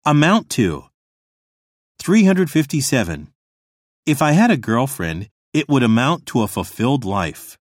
Amount to. 357. If I had a girlfriend, it would amount to a fulfilled life.